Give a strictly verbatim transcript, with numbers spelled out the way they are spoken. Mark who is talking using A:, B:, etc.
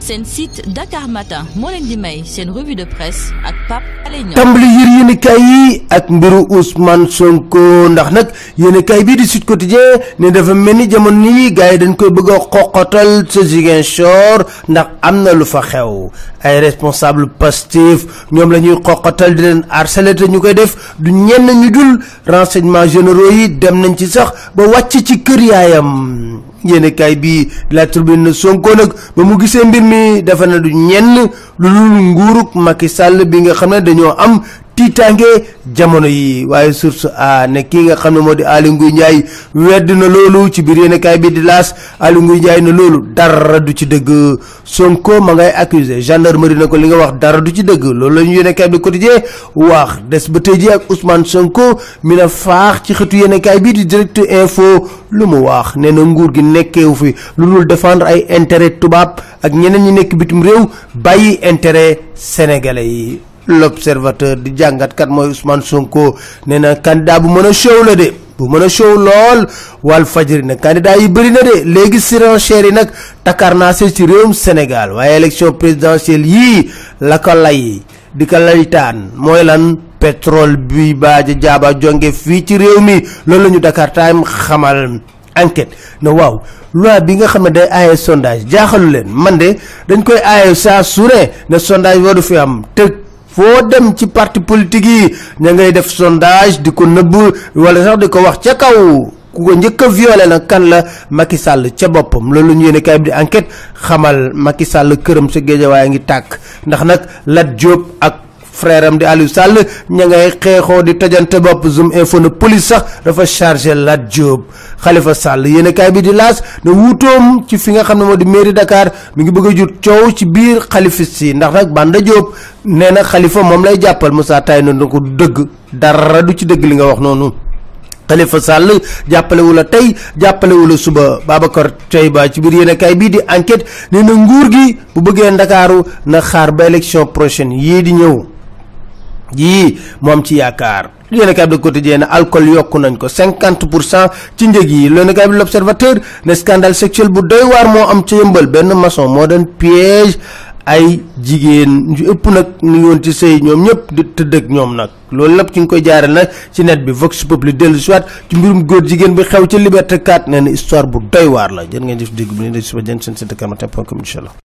A: seen site Dakar Matin moo leen di may seen revue de presse ak Pape Alé Niang.
B: tàmbali yër yéenekaay yi ak mbiru Ousmane Sonko ndax nag yéenekaay bii di Sud Quotidien ne dafa mel ni jamono yi gars yi dañ koy bëgg a xoqatal sa Ziguinchor ndax am na lu fa xew ay responsable Pastef ñoom la ñuy xoqatal di leen harceler te ñu koy def du ñenn ñu dul renseignements généraux yi dem nañ ci sax ba wàcc ci kër yaayam. yéenekaay bi La Tribune Sonko nag ba mu gisee mbir mi dafa na du ñenn lu dul nguurug Macky Sall bi nga xam ne dañoo am tiitaange jamono yi waaye source a ne kii nga xam ne moo di Aly Ngouille Ndiaye wedd na loolu ci biir yéenekaay bi di L'As. Aly Ngouille Ndiaye ne loolu dara du ci dëgg. Sonko ma ngay accusé gendarmerie na ko li nga wax dara du ci dëgg loolu la ñu yéenekaay bi Quotidien wax des ba tey ji ak Ousmane Sonko mi na faax ci xëtu yéenekaay bi di Direct Info lu mu wax nee na nguur gi nekkeewu fi lu dul défendre ay intérêt tubaab ak ñeneen ñi nekk bitim réew bàyyi intérêt sénégalais yi. L'Observateur di jàngat kat mooy Ousmane Sonko nee na candidat bu mën a show la de bu mën a show lool Walf Fadjri nag candidat yi bëri na de léegi surenchère yi nag takar naa se ci réewum Sénégal waaye élection présidentielle yii la ko lay di ko laytaan mooy lan pétrole bi baaja jaaba jonge fii ci réew mi loolu la ñu Dakar Time xamal. Enquête na waaw loi bi nga xam ne day aaye sondage jaaxalu leen man de dañ koy aaye saa su ne ne sondage waru fi am te foo dem ci parti politique yi ña ngay def sondage di ko nëbb wala sax di ko wax ca kaw ku ko njëkk a violé nag kan la Macky Sall ca boppam loolu ñu yéene kay bi di enquête xamal Macky Sall këram sa Guédiawaye ngi tàkk ndax nag Lat Diop ak frère am di Aliou Sall ña ngay xeexoo di tojante bopp Zoom info na police sax dafa chargé Lat Diop. Khalifa Sall yéene kaay bi di L'As ne wuutoom ci fi nga xam ne moo di mairie Dakar mi ngi bëgg a jur coow ci biir xalifis yi ndax nag Banda Diop nee na Khalifa moom lay jàppal Moussa Taye na ko du dëgg dara du ci dëgg li nga wax noonu. Khalifa Sall jàppalewu la tey jàppalewu la suba. Babacar Teyba ci biir yéenekaay bii di enquête nee na nguur gi bu bëggee Ndakaaru na xaar ba élection prochaine yii di ñëw yii moom ci yaakaar. yéenekaay bi Le Quotidien ne alcool yokku nañ ko cinquante pour cent ci njëg yi. yéenekaay bi L'Observateur ne scandale sexuel bu doy waar moo am ca Yëmbal benn maçon moo doon piège ay jigéen ñu ëpp nag ñu ngi woon ci sëy ñoom ñëpp di tëdd ak ñoom nag loolu lépp ci nga koy jaareel nag ci net bi Vox Populi dellu soit ci mbirum góor jigéen bi xew ca Liberté quatre nee na histoire bu doy waar la jërë ngeen jëf dégg bu ne de suba jën seen site dakar matin point com incha allah.